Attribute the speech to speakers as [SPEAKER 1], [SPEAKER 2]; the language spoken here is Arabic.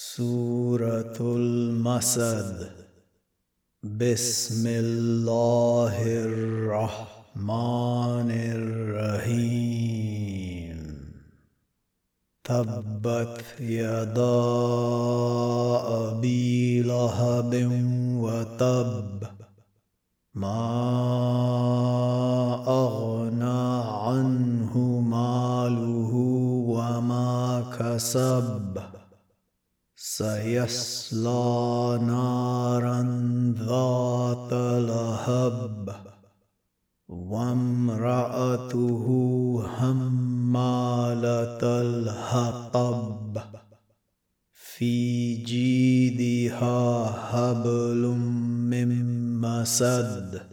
[SPEAKER 1] سورة المسد. بسم الله الرحمن الرحيم. تبت يدا أبي لهب وتب. ما أغنى عنه ماله وما كسب. سيصلى نارا ذات لهب وامرأته حمالة الحطب في جيدها حبل من مسد.